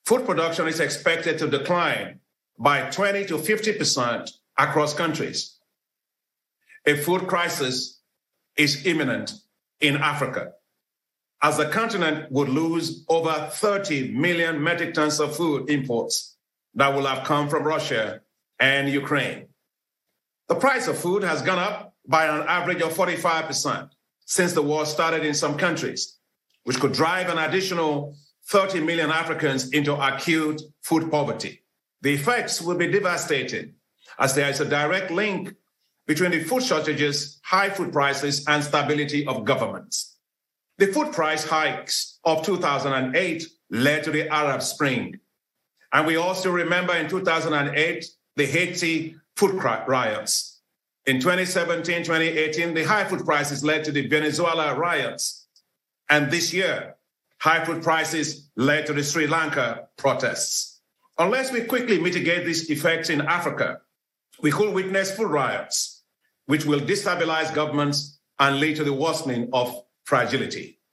Food production is expected to decline by 20 to 50% across countries. A food crisis is imminent in Africa, as the continent would lose over 30 million metric tons of food imports that will have come from Russia and Ukraine. The price of food has gone up by an average of 45% since the war started in some countries, which could drive an additional 30 million Africans into acute food poverty. The effects will be devastating, as there is a direct link between the food shortages, high food prices, and stability of governments. The food price hikes of 2008 led to the Arab Spring. And we also remember in 2008, the Haiti food riots. In 2017, 2018, the high food prices led to the Venezuela riots. And this year, high food prices led to the Sri Lanka protests. Unless we quickly mitigate these effects in Africa, we could witness food riots, which will destabilize governments and lead to the worsening of fragility.